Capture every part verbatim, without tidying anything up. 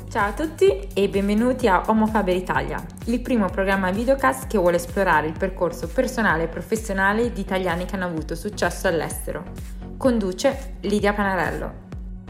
Ciao a tutti e benvenuti a Homo Faber Italia, il primo programma videocast che vuole esplorare il percorso personale e professionale di italiani che hanno avuto successo all'estero. Conduce Lidia Panarello.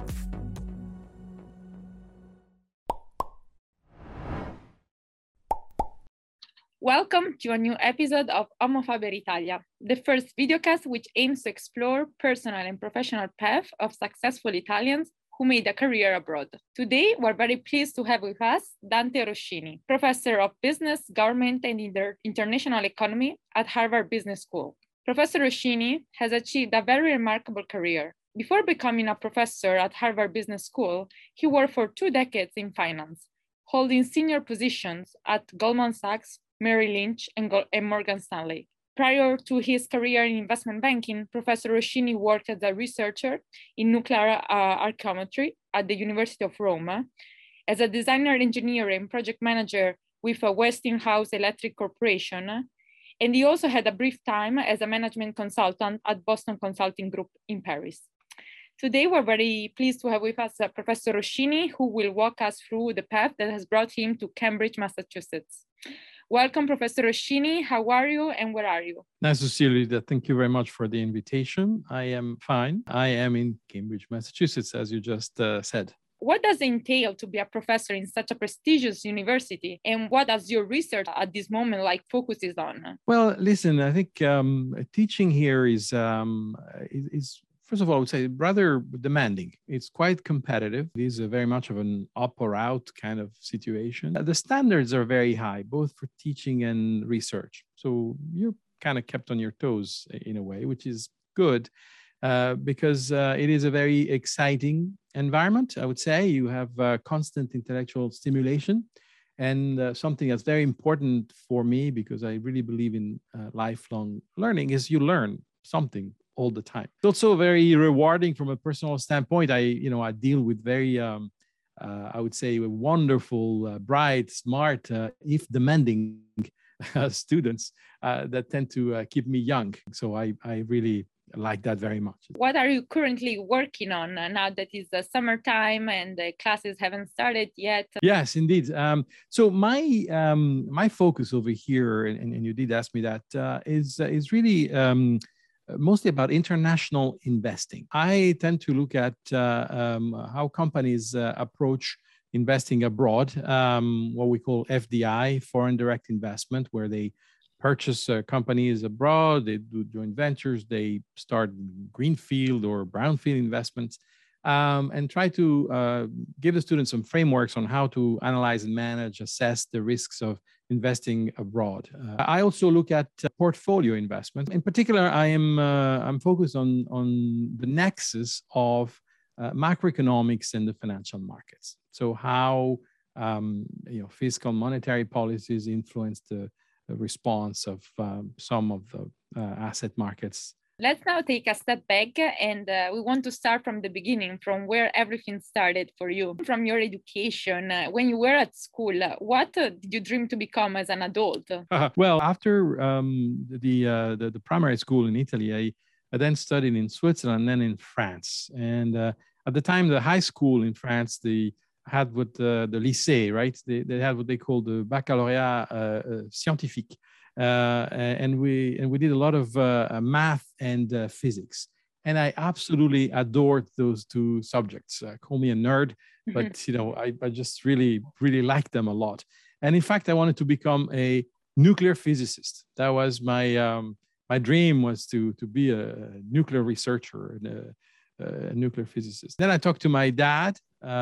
Welcome to a new episode of Homo Faber Italia, the first videocast which aims to explore personal and professional path of successful Italians who made a career abroad. Today, we're very pleased to have with us Dante Roschini, Professor of Business, Government and Inter- International Economy at Harvard Business School. Professor Roschini has achieved a very remarkable career. Before becoming a professor at Harvard Business School, he worked for two decades in finance, holding senior positions at Goldman Sachs, Merrill Lynch, and, Go- and Morgan Stanley. Prior to his career in investment banking, Professor Roschini worked as a researcher in nuclear uh, archaeometry at the University of Rome, as a designer, engineer, and project manager with a Westinghouse Electric Corporation, and he also had a brief time as a management consultant at Boston Consulting Group in Paris. Today, we're very pleased to have with us uh, Professor Roschini, who will walk us through the path that has brought him to Cambridge, Massachusetts. Welcome, Professor Roschini. How are you and where are you? Nice to see you, Lydia. Thank you very much for the invitation. I am fine. I am in Cambridge, Massachusetts, as you just uh, said. What does it entail to be a professor in such a prestigious university? And what does your research at this moment like focuses on? Well, listen, I think um, teaching here is, um, is, is First of all, I would say rather demanding. It's quite competitive. It is a very much of an up or out kind of situation. The standards are very high, both for teaching and research. So you're kind of kept on your toes in a way, which is good uh, because uh, it is a very exciting environment, I would say. You have uh, constant intellectual stimulation. And uh, something that's very important for me, because I really believe in uh, lifelong learning, is you learn something all the time. It's also very rewarding from a personal standpoint. I, you know, I deal with very, um, uh, I would say, wonderful, uh, bright, smart, uh, if demanding uh, students uh, that tend to uh, keep me young. So I, I really like that very much. What are you currently working on now that it's the summertime and the classes haven't started yet? Yes, indeed. Um, so my um, my focus over here, and, and you did ask me that, uh, is uh, is really. Um, mostly about international investing. I tend to look at uh, um, how companies uh, approach investing abroad, um, what we call F D I, foreign direct investment, where they purchase uh, companies abroad, they do joint ventures, they start greenfield or brownfield investments, um, and try to uh, give the students some frameworks on how to analyze and manage, assess the risks of investing abroad. Uh, I also look at uh, portfolio investment. In particular, I am uh, I'm focused on on the nexus of uh, macroeconomics and the financial markets. So how um, you know fiscal monetary policies influence the, the response of um, some of the uh, asset markets. Let's now take a step back and uh, we want to start from the beginning, from where everything started for you. From your education, uh, when you were at school, uh, what uh, did you dream to become as an adult? Uh, well, after um, the, uh, the the primary school in Italy, I, I then studied in Switzerland and then in France. And uh, at the time, the high school in France, they had what uh, the lycée, right? They, they had what they call the baccalauréat uh, uh, scientifique. Uh, and we and we did a lot of uh, math and uh, physics, and I absolutely adored those two subjects. Uh, call me a nerd, but you know I, I just really really liked them a lot. And in fact, I wanted to become a nuclear physicist. That was my um, my dream, was to to be a nuclear researcher and a, a nuclear physicist. Then I talked to my dad,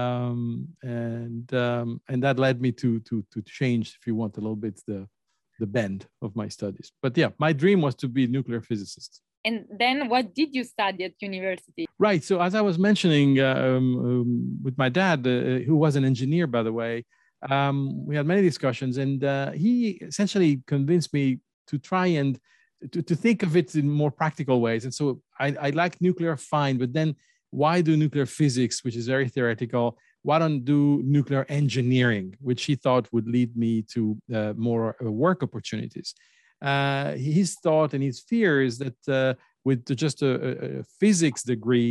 um, and um, and that led me to to to change, if you want, a little bit the. the bend of my studies. But yeah, my dream was to be a nuclear physicist. And then what did you study at university? Right. So as I was mentioning uh, um, um, with my dad, uh, who was an engineer, by the way, um, we had many discussions, and uh, he essentially convinced me to try and to, to think of it in more practical ways. And so I, I like nuclear fine, but then why do nuclear physics, which is very theoretical? Why don't do nuclear engineering, which he thought would lead me to uh, more uh, work opportunities. Uh, his thought and his fear is that uh, with just a, a physics degree,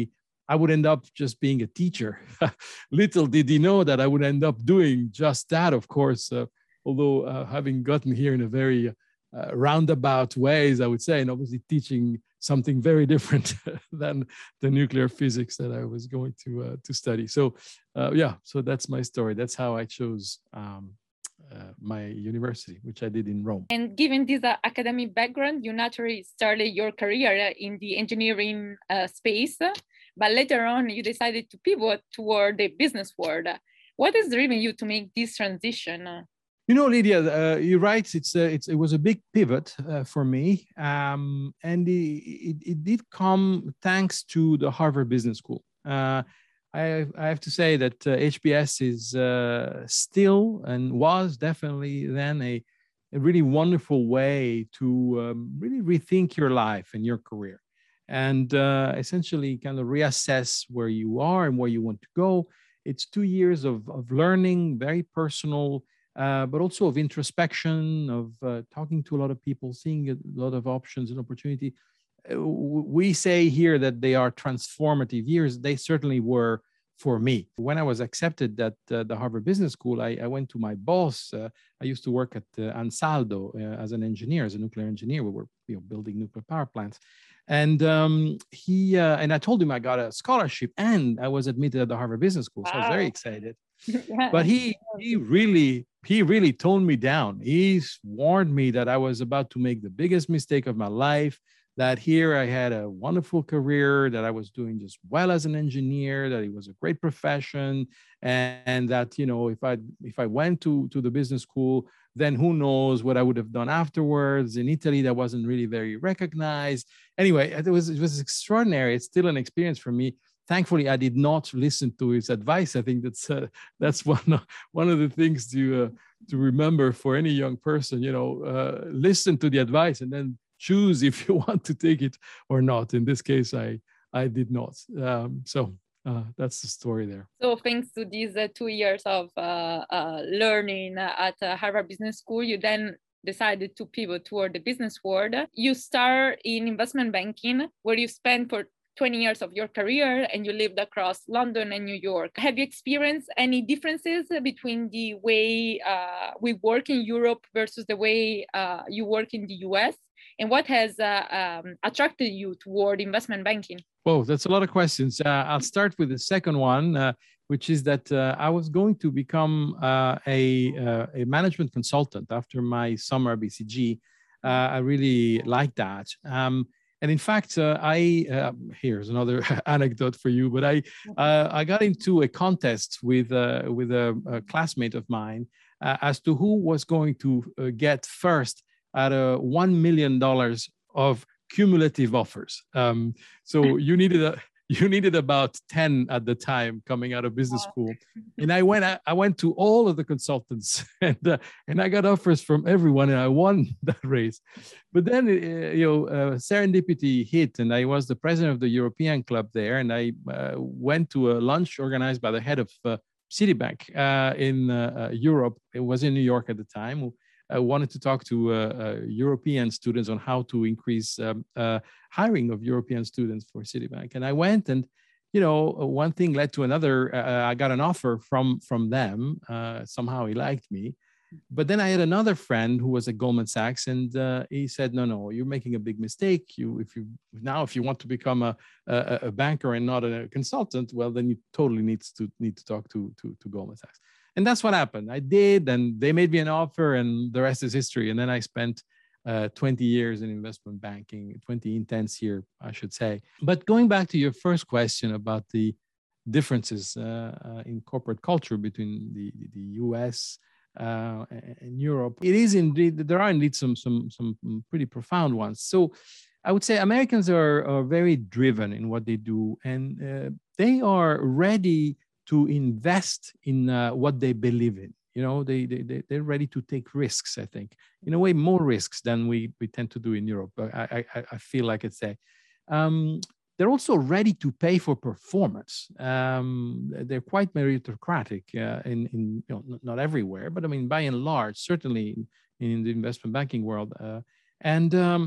I would end up just being a teacher. Little did he know that I would end up doing just that, of course, uh, although uh, having gotten here in a very uh, roundabout ways, I would say, and obviously teaching something very different than the nuclear physics that I was going to uh, to study. So uh, yeah, so that's my story. That's how I chose um, uh, my university, which I did in Rome. And given this uh, academic background, you naturally started your career in the engineering uh, space, but later on you decided to pivot toward the business world. What has driven you to make this transition? You know, Lydia, uh, you're right. It's, a, it's it was a big pivot uh, for me, um, and it, it, it did come thanks to the Harvard Business School. Uh, I, I have to say that uh, H B S is uh, still and was definitely then a, a really wonderful way to um, really rethink your life and your career, and uh, essentially kind of reassess where you are and where you want to go. It's two years of, of learning, very personal. Uh, but also of introspection, of uh, talking to a lot of people, seeing a lot of options and opportunity. Uh, we say here that they are transformative years. They certainly were for me. When I was accepted at uh, the Harvard Business School, I, I went to my boss. Uh, I used to work at uh, Ansaldo uh, as an engineer, as a nuclear engineer. We were you know, building nuclear power plants. And um, he uh, and I told him I got a scholarship and I was admitted at the Harvard Business School. So wow. I was very excited. Yeah. But he he really he really toned me down. He warned me that I was about to make the biggest mistake of my life, that here I had a wonderful career, that I was doing just well as an engineer, that it was a great profession, and, and that, you know, if I if I went to, to the business school, then who knows what I would have done afterwards. In Italy, that wasn't really very recognized. Anyway, it was it was extraordinary. It's still an experience for me. Thankfully, I did not listen to his advice. I think that's uh, that's one of, one of the things to uh, to remember for any young person. You know, uh, listen to the advice and then choose if you want to take it or not. In this case, I I did not. Um, so uh, that's the story there. So thanks to these uh, two years of uh, uh, learning at uh, Harvard Business School, you then decided to pivot toward the business world. You start in investment banking, where you spent for twenty years of your career, and you lived across London and New York. Have you experienced any differences between the way uh, we work in Europe versus the way uh, you work in the U S? And what has uh, um, attracted you toward investment banking? Whoa, that's a lot of questions. Uh, I'll start with the second one, uh, which is that uh, I was going to become uh, a, uh, a management consultant after my summer at B C G. Uh, I really liked that. Um, And in fact, uh, I uh, here's another anecdote for you. But I uh, I got into a contest with uh, with a, a classmate of mine uh, as to who was going to uh, get first at a one million dollars of cumulative offers. Um, so you needed a you needed about ten at the time coming out of business school, and I went I, I went to all of the consultants and uh, and I got offers from everyone, and I won that race. But then uh, you know uh, serendipity hit, and I was the president of the European club there, and I uh, went to a lunch organized by the head of uh, Citibank uh, in uh, uh, Europe. It was in New York at the time. I wanted to talk to uh, uh, European students on how to increase um, uh, hiring of European students for Citibank. And I went, and you know, one thing led to another. Uh, I got an offer from from them. Uh, somehow he liked me. But then I had another friend who was at Goldman Sachs, and uh, he said, "No, no, you're making a big mistake. You, if you now, if you want to become a, a, a banker and not a consultant, well, then you totally need to need to talk to to, to Goldman Sachs." And that's what happened. I did, and they made me an offer, and the rest is history. And then I spent uh, twenty years in investment banking, twenty intense years, I should say. But going back to your first question about the differences uh, uh, in corporate culture between the, the U S uh, and Europe, it is indeed, there are indeed some, some, some pretty profound ones. So I would say Americans are, are very driven in what they do, and uh, they are ready to invest in uh, what they believe in. You know, they, they, they're ready to take risks, I think. In a way, more risks than we, we tend to do in Europe. I, I, I feel like I'd say. Um, they're also ready to pay for performance. Um, they're quite meritocratic uh, in, in you know, not everywhere, but I mean, by and large, certainly in, in the investment banking world. Uh, and um,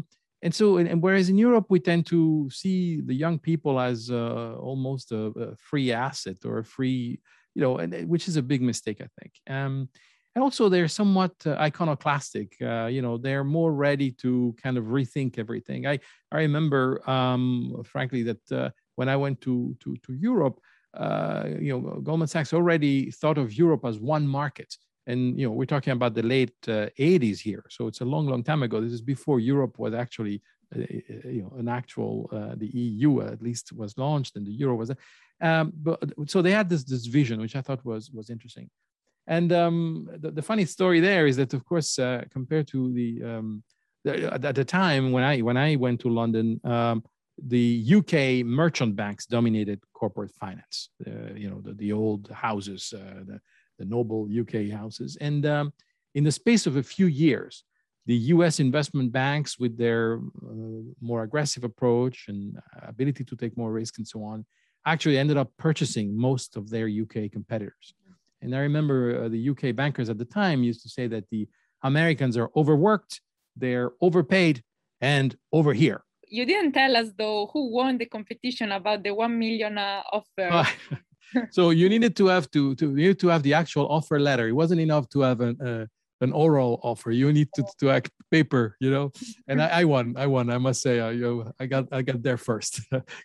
and so, and, and whereas in Europe, we tend to see the young people as uh, almost a, a free asset or a free, you know, and, which is a big mistake, I think. Um, and also, they're somewhat uh, iconoclastic. Uh, you know, they're more ready to kind of rethink everything. I, I remember, um, frankly, that uh, when I went to, to, to Europe, uh, you know, Goldman Sachs already thought of Europe as one market. And, you know, we're talking about the late uh, eighties here. So it's a long, long time ago. This is before Europe was actually, uh, you know, an actual, uh, the E U at least was launched and the euro was, um, but so they had this, this vision, which I thought was, was interesting. And um, the, the funny story there is that, of course, uh, compared to the, um, the, at the time when I, when I went to London, um, the U K merchant banks dominated corporate finance, uh, you know, the, the old houses, uh, the, the noble U K houses. And um, in the space of a few years, the U S investment banks, with their uh, more aggressive approach and ability to take more risk and so on, actually ended up purchasing most of their U K competitors. And I remember uh, the U K bankers at the time used to say that the Americans are overworked, they're overpaid, and over here. You didn't tell us, though, who won the competition about the one million uh, offer. So you needed to have to, to you needed to have the actual offer letter. It wasn't enough to have an uh, an oral offer. You need to to act paper, you know. And I, I won. I won. I must say, uh, you know, I got I got there first.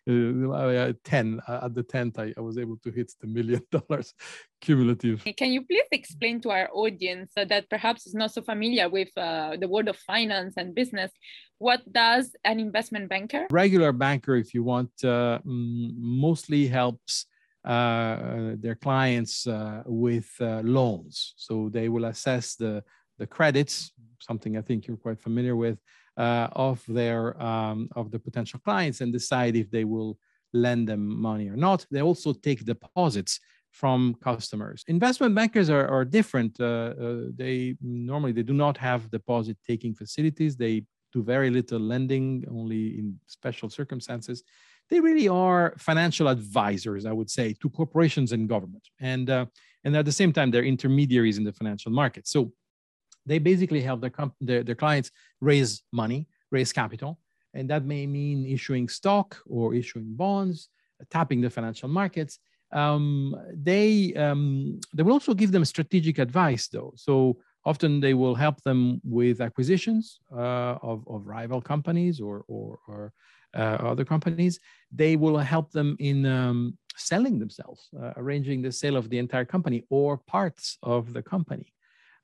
Ten uh, at the tenth, I, I was able to hit the million dollars cumulative. Can you please explain to our audience uh, that perhaps is not so familiar with uh, the world of finance and business, what does an investment banker? Regular banker, if you want, uh, mostly helps uh, their clients uh, with uh, loans. So they will assess the, the credits, something I think you're quite familiar with, uh, of their um, of the potential clients, and decide if they will lend them money or not. They also take deposits from customers. Investment bankers are, are different. Uh, uh, they normally they do not have deposit taking facilities. They do very little lending, only in special circumstances. They really are financial advisors, I would say, to corporations and government. And, uh, and at the same time, they're intermediaries in the financial market. So they basically help their, comp- their, their clients raise money, raise capital. And that may mean issuing stock or issuing bonds, tapping the financial markets. Um, they, um, they will also give them strategic advice, though. So often they will help them with acquisitions uh, of, of rival companies or, or, or uh, other companies. They will help them in um, selling themselves, uh, arranging the sale of the entire company or parts of the company.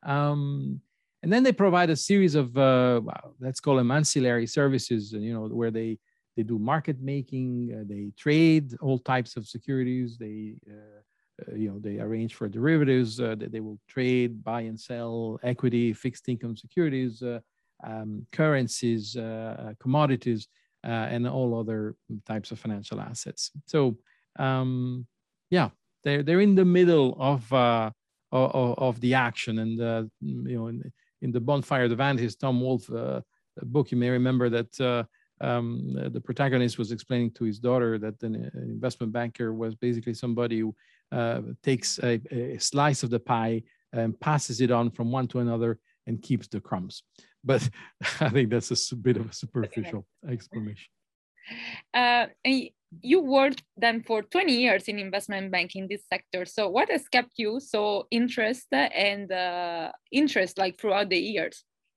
Um, and then they provide a series of, uh, let's call them ancillary services, you know, where they, they do market making, uh, they trade all types of securities, they uh, Uh, you know, they arrange for derivatives, uh, they, they will trade, buy and sell equity, fixed income securities, uh, um, currencies, uh, commodities, uh, and all other types of financial assets. So, um, yeah, they're, they're in the middle of, uh, of, of the action. And, uh, you know, in, in the Bonfire of the Vanities, Tom Wolfe uh, book, you may remember that uh, Um, the protagonist was explaining to his daughter that an, an investment banker was basically somebody who uh, takes a, a slice of the pie and passes it on from one to another and keeps the crumbs. But I think that's a bit of a superficial explanation. Uh, and you worked then for twenty years in investment banking, this sector. So what has kept you so interested and uh, interest like throughout the years?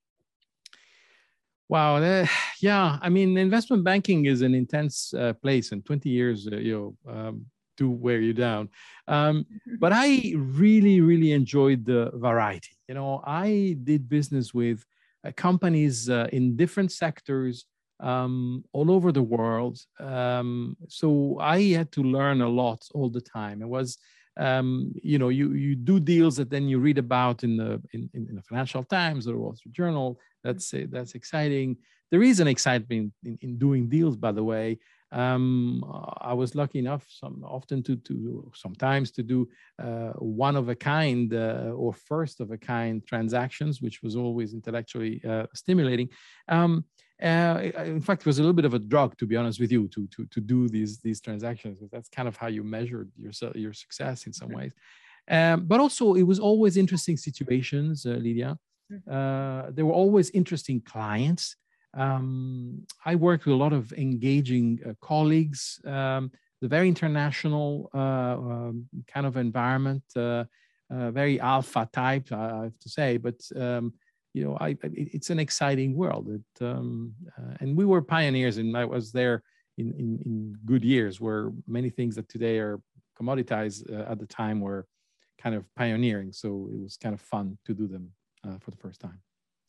Wow, uh, yeah. I mean, investment banking is an intense uh, place, and twenty years, uh, you know, um, do wear you down. Um, but I really, really enjoyed the variety. You know, I did business with uh, companies uh, in different sectors um, all over the world. Um, so I had to learn a lot all the time. It was, um, you know, you you do deals that then you read about in the in, in the Financial Times or the Wall Street Journal. That's that's exciting. There is an excitement in, in doing deals, by the way. Um, I was lucky enough, some often to to sometimes to do uh, one of a kind uh, or first of a kind transactions, which was always intellectually uh, stimulating. Um, uh, in fact, it was a little bit of a drug, to be honest with you, to to to do these these transactions. That's kind of how you measure your your success in some ways. Um, but also, it was always interesting situations, uh, Lydia. Uh, there were always interesting clients. Um, I worked with a lot of engaging uh, colleagues, um, the very international uh, um, kind of environment, uh, uh, very alpha type, I have to say, but um, you know, I, I, it's an exciting world. It, um, uh, and we were pioneers, and I was there in, in, in good years where many things that today are commoditized uh, at the time were kind of pioneering. So it was kind of fun to do them uh, for the first time.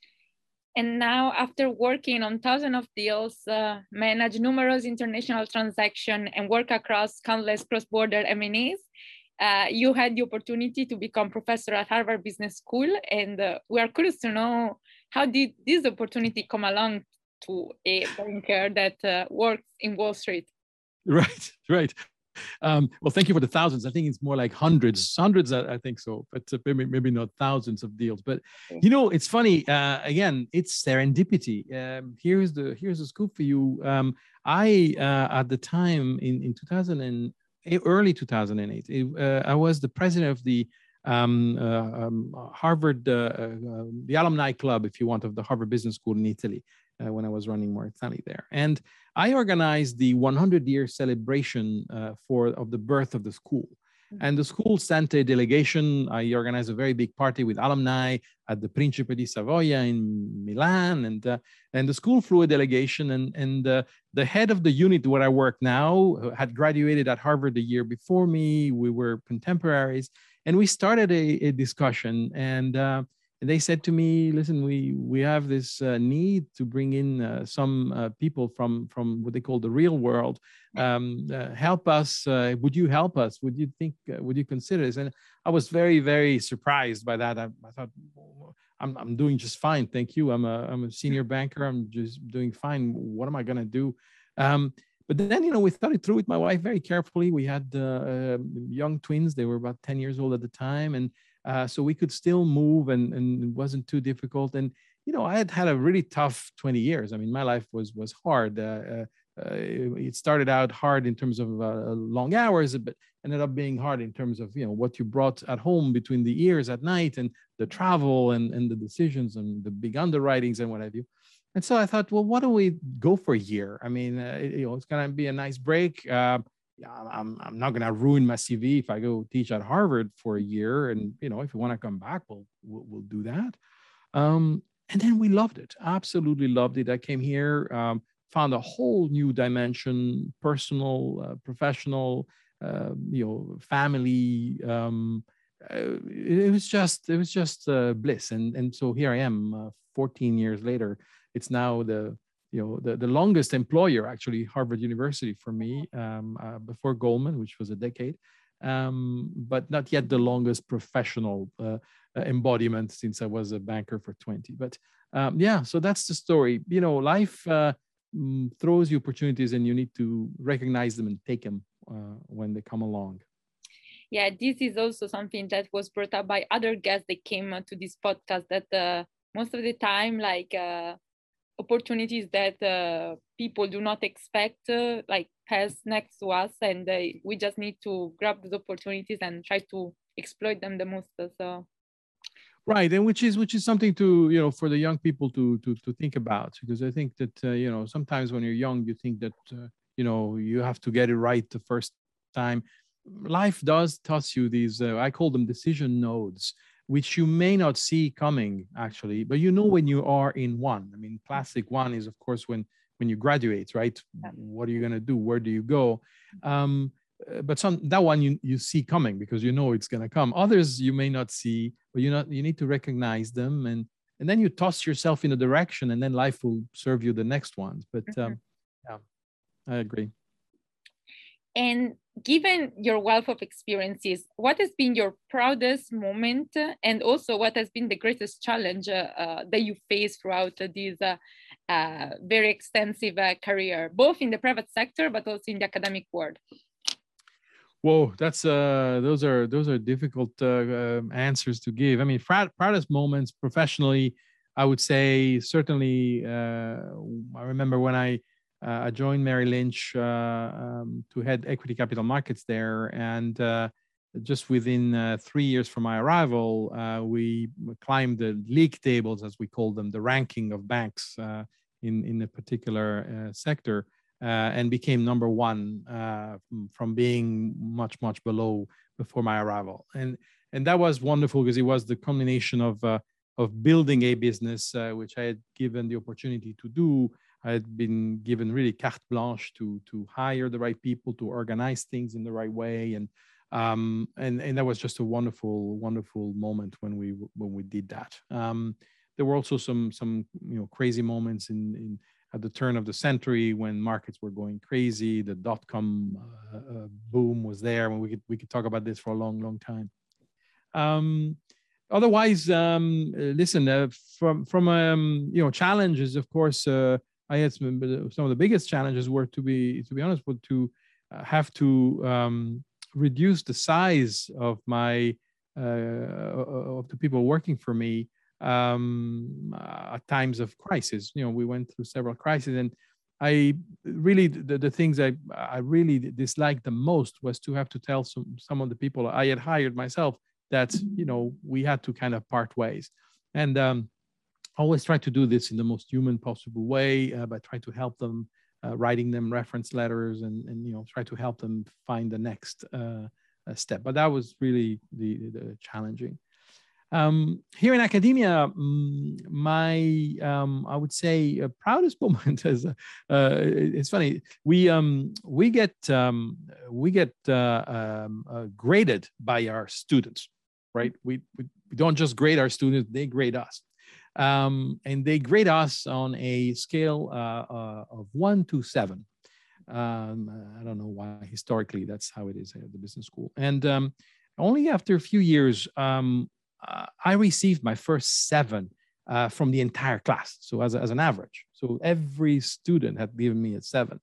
And now, after working on thousands of deals, uh, manage numerous international transactions, and work across countless cross-border M and As, uh, you had the opportunity to become professor at Harvard Business School. And uh, we are curious to know, how did this opportunity come along to a banker that uh, works in Wall Street? Right, right. Um, well, thank you for the thousands. I think it's more like hundreds, hundreds, I, I think so, but uh, maybe, maybe not thousands of deals. But, you know, it's funny, uh, again, it's serendipity. Um, here's the here's the scoop for you. Um, I, uh, at the time in, in two thousand eight, early two thousand eight, it, uh, I was the president of the um, uh, um, Harvard, uh, uh, the alumni club, if you want, of the Harvard Business School in Italy, uh, when I was running Morgan Stanley there. And I organized the hundred year celebration uh, for of the birth of the school. And the school sent a delegation. I organized a very big party with alumni at the Principe di Savoia in Milan. And, uh, and the school flew a delegation. And, and uh, the head of the unit where I work now had graduated at Harvard the year before me. We were contemporaries. And we started a, a discussion. And uh, And they said to me, listen, we, we have this uh, need to bring in uh, some uh, people from, from what they call the real world. Um, uh, help us. Uh, would you help us? Would you think, uh, would you consider this? And I was very, very surprised by that. I, I thought, I'm, I'm doing just fine. Thank you. I'm a, I'm a senior banker. I'm just doing fine. What am I going to do? Um, But then, you know, we thought it through with my wife very carefully. We had uh, uh, young twins. They were about ten years old at the time. And uh, so we could still move, and, and it wasn't too difficult. And, you know, I had had a really tough twenty years. I mean, my life was was hard. Uh, uh, it started out hard in terms of uh, long hours, but ended up being hard in terms of, you know, what you brought at home between the ears at night, and the travel, and, and the decisions, and the big underwritings and what have you. And so I thought, well, why don't we go for a year? I mean, uh, you know, it's going to be a nice break. Uh, I'm, I'm not going to ruin my C V if I go teach at Harvard for a year. And, you know, if you want to come back, we'll, we'll, we'll do that. Um, and then we loved it. Absolutely loved it. I came here, um, found a whole new dimension, personal, uh, professional, uh, you know, family. Um, uh, it, it was just, it was just uh, bliss. And, and so here I am uh, fourteen years later. It's now the, you know, the, the longest employer, actually, Harvard University for me, um, uh, before Goldman, which was a decade, um, but not yet the longest professional uh, embodiment, since I was a banker for twenty. But um, yeah, so that's the story. You know, life uh, throws you opportunities, and you need to recognize them and take them uh, when they come along. Yeah, this is also something that was brought up by other guests that came to this podcast, that uh, most of the time, like, uh, opportunities that uh, people do not expect, uh, like, pass next to us, and uh, we just need to grab those opportunities and try to exploit them the most. So, right, and which is which is something to, you know, for the young people to to to think about, because I think that uh, you know, sometimes when you're young, you think that uh, you know, you have to get it right the first time. Life does toss you these, uh, I call them decision nodes, which you may not see coming, actually, but you know when you are in one. I mean, classic one is, of course, when when you graduate, right? What are you going to do? Where do you go? Um, but some that one you you see coming, because you know it's going to come. Others you may not see, but you not you need to recognize them, and and then you toss yourself in a direction, and then life will serve you the next ones. But um, yeah, I agree. And given your wealth of experiences, what has been your proudest moment, and also what has been the greatest challenge uh, uh, that you faced throughout uh, this uh, uh, very extensive uh, career, both in the private sector but also in the academic world? Whoa, that's uh, those are those are difficult uh, uh, answers to give. I mean, proudest moments professionally, I would say certainly. Uh, I remember when I. Uh, I joined Merrill Lynch uh, um, to head equity capital markets there. And uh, just within uh, three years from my arrival, uh, we climbed the league tables, as we call them, the ranking of banks uh, in, in a particular uh, sector, uh, and became number one uh, from, from being much, much below before my arrival. And, and that was wonderful because it was the combination of, uh, of building a business, uh, which I had given the opportunity to do. I had been given really carte blanche to, to hire the right people, to organize things in the right way. And Um, and, and that was just a wonderful, wonderful moment when we when we did that. Um, there were also some some you know crazy moments in, in at the turn of the century when markets were going crazy. The dot com uh, uh, boom was there. When we could we could talk about this for a long, long time. Um, otherwise, um, listen, uh, from from um, you know challenges, of course, uh, I had some, some of the biggest challenges were to be to be honest, were to uh, have to um, reduce the size of my uh, of the people working for me um, at times of crisis. You know, we went through several crises, and I really the, the things I I really disliked the most was to have to tell some some of the people I had hired myself that you know we had to kind of part ways, and um, always try to do this in the most human possible way uh, by trying to help them. Uh, writing them reference letters and, and you know try to help them find the next uh, uh, step. But that was really the, the challenging. Um, here in academia, um, my um, I would say uh, proudest moment is uh, uh, it's funny. We um, we get um, we get uh, um, uh, graded by our students, right? We, we we don't just grade our students; they grade us. Um, and they grade us on a scale uh, uh, of one to seven. Um, I don't know why historically that's how it is at the business school. And um, only after a few years, um, uh, I received my first seven uh, from the entire class. So as, a, as an average, so every student had given me a seven,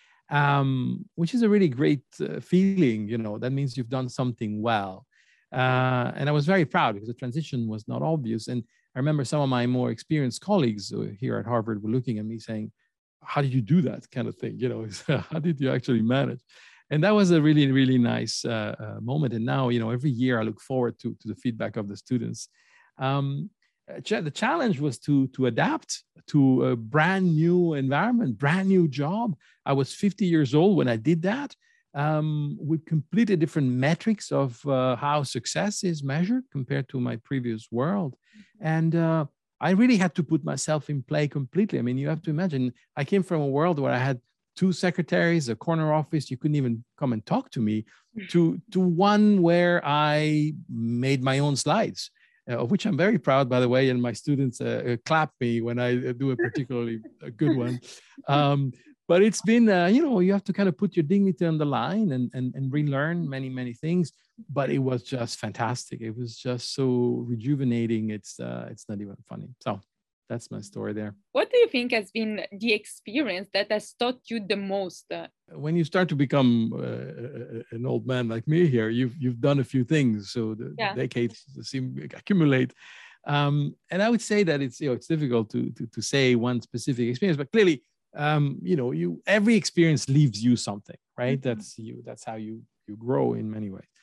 um, which is a really great uh, feeling. You know, that means you've done something well. Uh, and I was very proud because the transition was not obvious. And I remember some of my more experienced colleagues here at Harvard were looking at me saying, how did you do that kind of thing? You know, how did you actually manage? And that was a really, really nice uh, uh, moment. And now, you know, every year I look forward to, to the feedback of the students. Um, the challenge was to, to adapt to a brand new environment, brand new job. I was fifty years old when I did that. Um, with completely different metrics of uh, how success is measured compared to my previous world. And uh, I really had to put myself in play completely. I mean, you have to imagine, I came from a world where I had two secretaries, a corner office, you couldn't even come and talk to me, to, to one where I made my own slides, uh, of which I'm very proud, by the way, and my students uh, clap me when I do a particularly a good one. Um, But it's been, uh, you know, you have to kind of put your dignity on the line and, and, and relearn many, many things. But it was just fantastic. It was just so rejuvenating. It's uh, it's not even funny. So that's my story there. What do you think has been the experience that has taught you the most? When you start to become uh, an old man like me here, you've, you've done a few things. So the yeah. decades seem to accumulate. Um, and I would say that it's, you know, it's difficult to, to, to say one specific experience, but clearly, um, you know, you, every experience leaves you something, right? Mm-hmm. That's you, that's how you, you grow in many ways.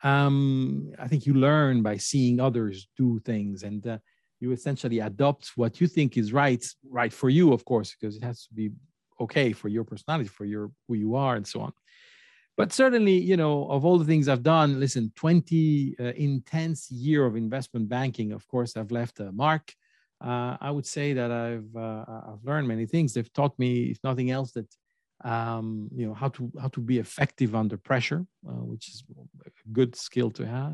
Um, I think you learn by seeing others do things, and uh, you essentially adopt what you think is right, right for you, of course, because it has to be okay for your personality, for your, who you are, and so on. But certainly, you know, of all the things I've done, listen, twenty uh, intense year of investment banking, of course, I've left a mark. Uh, I would say that I've uh, I've learned many things. They've taught me, if nothing else, that um, you know how to how to be effective under pressure, uh, which is a good skill to have.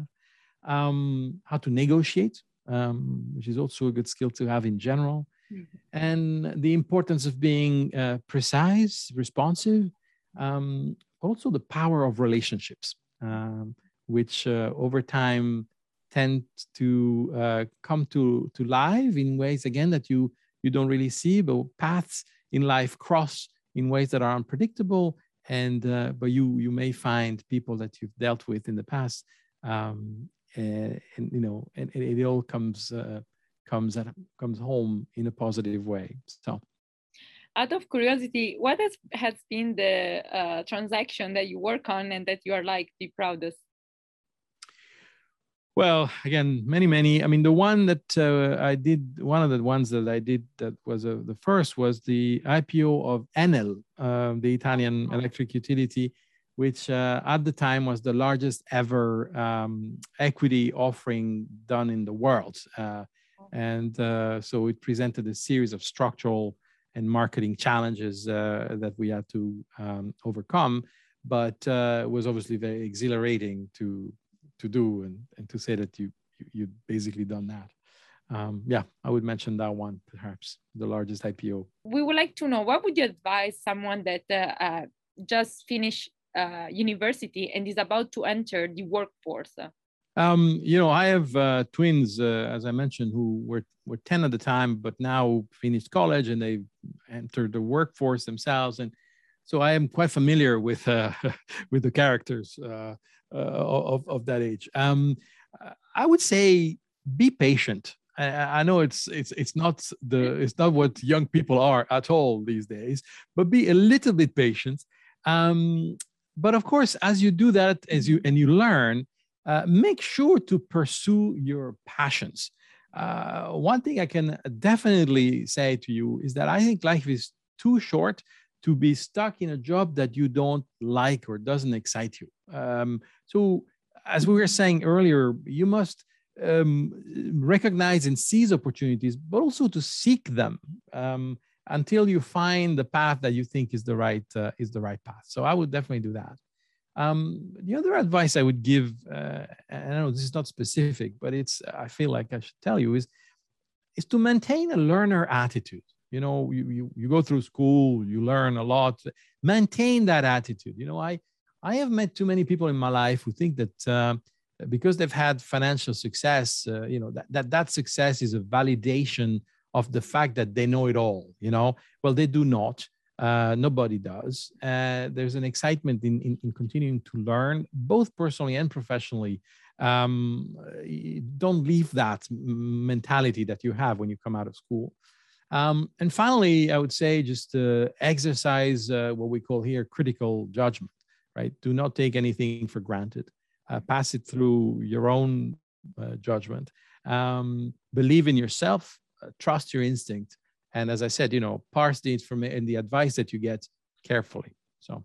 Um, how to negotiate, um, which is also a good skill to have in general, mm-hmm. and the importance of being uh, precise, responsive. Um, also, the power of relationships, um, which uh, over time tend to uh, come to, to life in ways, again, that you, you don't really see, but paths in life cross in ways that are unpredictable. And, uh, but you, you may find people that you've dealt with in the past, um, and, and, you know, and, and it all comes, uh, comes, at, comes home in a positive way. So. Out of curiosity, what has, has been the uh, transaction that you work on and that you are like the proudest? Well, again, many, many. I mean, the one that uh, I did, one of the ones that I did that was uh, the first was the I P O of Enel, uh, the Italian electric utility, which uh, at the time was the largest ever um, equity offering done in the world. Uh, and uh, so it presented a series of structural and marketing challenges uh, that we had to um, overcome, but uh, it was obviously very exhilarating to to do and, and to say that you, you you'd basically done that. Um, yeah, I would mention that one, perhaps the largest I P O. We would like to know, what would you advise someone that uh, uh, just finished uh, university and is about to enter the workforce? Um, you know, I have uh, twins, uh, as I mentioned, who were, were ten at the time, but now finished college and they entered the workforce themselves. And so I am quite familiar with uh, with the characters uh, uh, of, of that age. Um, I would say be patient. I, I know it's it's it's not the it's not what young people are at all these days, but be a little bit patient. Um, but of course, as you do that, as you and you learn, uh, make sure to pursue your passions. Uh, one thing I can definitely say to you is that I think life is too short to be stuck in a job that you don't like or doesn't excite you. Um, so, as we were saying earlier, you must um, recognize and seize opportunities, but also to seek them um, until you find the path that you think is the right uh, is the right path. So, I would definitely do that. Um, the other advice I would give, uh, and I know this is not specific, but it's I feel like I should tell you is is to maintain a learner attitude. You know, you, you, you go through school, you learn a lot, maintain that attitude. You know, I, I have met too many people in my life who think that uh, because they've had financial success, uh, you know, that, that that success is a validation of the fact that they know it all, you know. Well, they do not. Uh, nobody does. Uh, there's an excitement in, in, in continuing to learn, both personally and professionally. Um, don't leave that mentality that you have when you come out of school. Um, and finally, I would say just uh, exercise uh, what we call here critical judgment, right? Do not take anything for granted. Uh, pass it through your own uh, judgment. Um, believe in yourself, uh, trust your instinct. And as I said, you know, parse the information and the advice that you get carefully. So.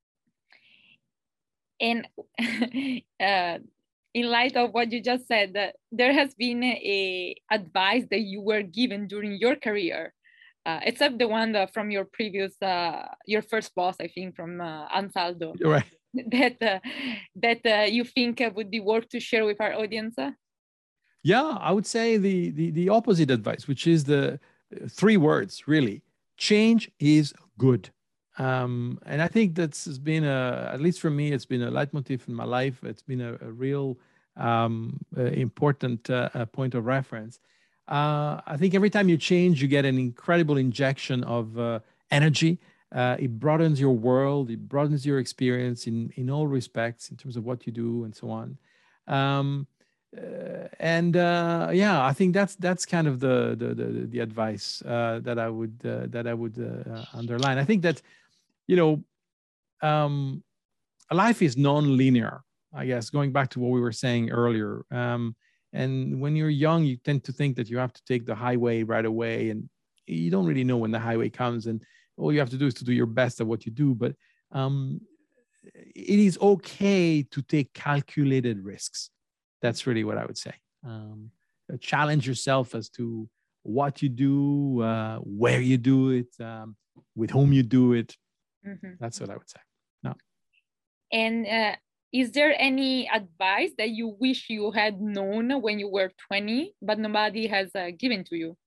And uh, in light of what you just said, uh, there has been a advice that you were given during your career, uh, except the one that from your previous, uh, your first boss, I think, from uh, Ansaldo. You're right. That uh, that uh, you think uh, would be worth to share with our audience? Yeah, I would say the the, the opposite advice, which is the three words really: change is good. Um, and I think that's been a, at least for me, it's been a leitmotif in my life. It's been a, a real um, uh, important uh, point of reference. Uh, I think every time you change, you get an incredible injection of uh, energy. Uh, it broadens your world. It broadens your experience in, in all respects in terms of what you do and so on. Um, uh, and uh, yeah, I think that's that's kind of the the the, the advice uh, that I would uh, that I would uh, underline. I think that, you know, um, life is non-linear, I guess, going back to what we were saying earlier. Um, and when you're young, you tend to think that you have to take the highway right away, and you don't really know when the highway comes, and all you have to do is to do your best at what you do. But um, it is okay to take calculated risks. That's really what I would say. Um, challenge yourself as to what you do, uh, where you do it, um, with whom you do it. Mm-hmm. That's what I would say. No. And uh, is there any advice that you wish you had known when you were twenty, but nobody has uh, given to you?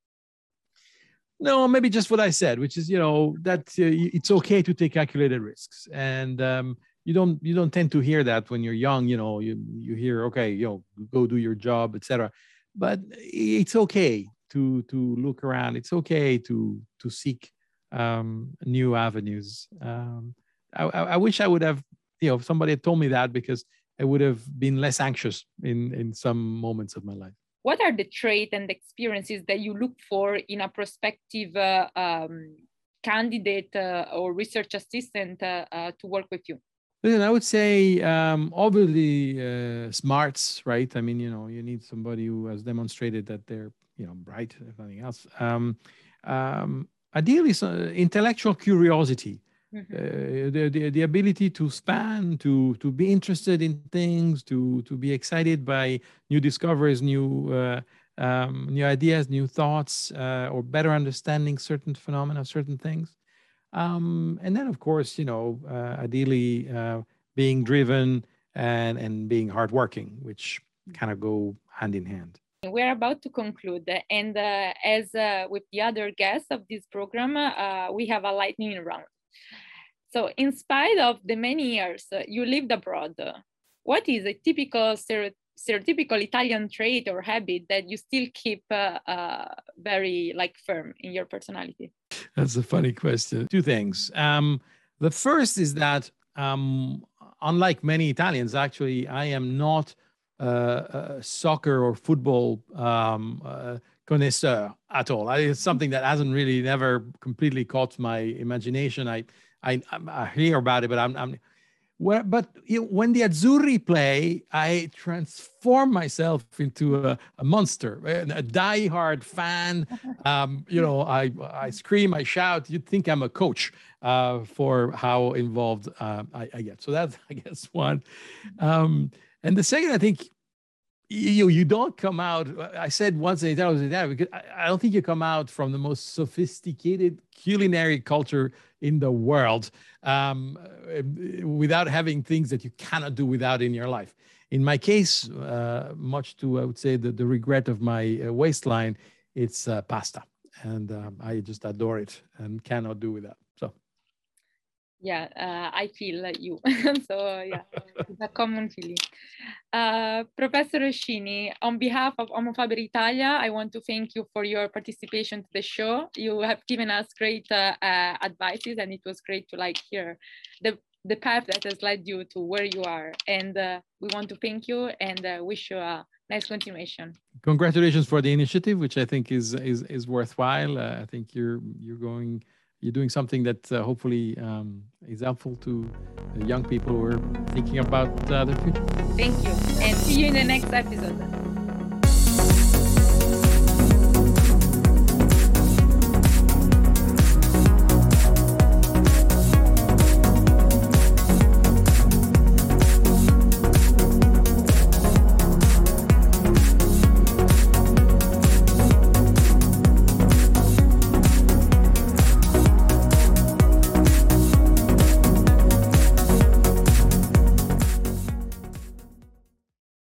No, maybe just what I said, which is, you know, that uh, it's okay to take calculated risks. And um, you don't you don't tend to hear that when you're young. You know, you you hear, okay, you know, go do your job, et cetera. But it's okay to to look around. It's okay to to seek um, new avenues. Um, I, I wish I would have, you know, if somebody had told me that, because I would have been less anxious in in some moments of my life. What are the traits and experiences that you look for in a prospective uh, um, candidate uh, or research assistant uh, uh, to work with you? Listen, I would say um, obviously uh, smarts, right? I mean, you know, you need somebody who has demonstrated that they're, you know, bright, if nothing else. Um, um, ideally, so intellectual curiosity, Mm-hmm. uh, the, the the ability to span, to to be interested in things, to to be excited by new discoveries, new uh, um, new ideas, new thoughts, uh, or better understanding certain phenomena, certain things. Um, and then, of course, you know, uh, ideally uh, being driven and and being hardworking, which kind of go hand in hand. We're about to conclude, and uh, as uh, with the other guests of this program, uh, we have a lightning round. So, in spite of the many years uh, you lived abroad, uh, what is a typical stereotype? stereotypical Italian trait or habit that you still keep uh, uh, very like firm in your personality? That's a funny question. Two things. Um, the first is that, um, unlike many Italians, actually, I am not uh, a soccer or football um, uh, connoisseur at all. I, it's something that hasn't really never completely caught my imagination. I I, I hear about it, but I'm, I'm Well, but you know, when the Azzurri play, I transform myself into a, a monster, a die-hard fan. Um, you know, I I scream, I shout. You'd think I'm a coach uh, for how involved uh, I, I get. So that's, I guess, one. Um, and the second, I think, you you don't come out. I said once in Italy, was in Italy because I, I don't think you come out from the most sophisticated culinary culture in the world um, without having things that you cannot do without in your life. In my case, uh, much to I would say the, the regret of my uh, waistline, it's uh, pasta, and um, I just adore it and cannot do without. So. Yeah, uh, I feel like you. So yeah, it's a common feeling. Uh, Professor Oschini, on behalf of Homo Faber Italia, I want to thank you for your participation to the show. You have given us great uh, uh, advices, and it was great to like hear the the path that has led you to where you are. And uh, we want to thank you and uh, wish you a nice continuation. Congratulations for the initiative, which I think is is is worthwhile. Uh, I think you're you're going. You're doing something that uh, hopefully um, is helpful to uh, young people who are thinking about uh, their future. Thank you, and see you in the next episode.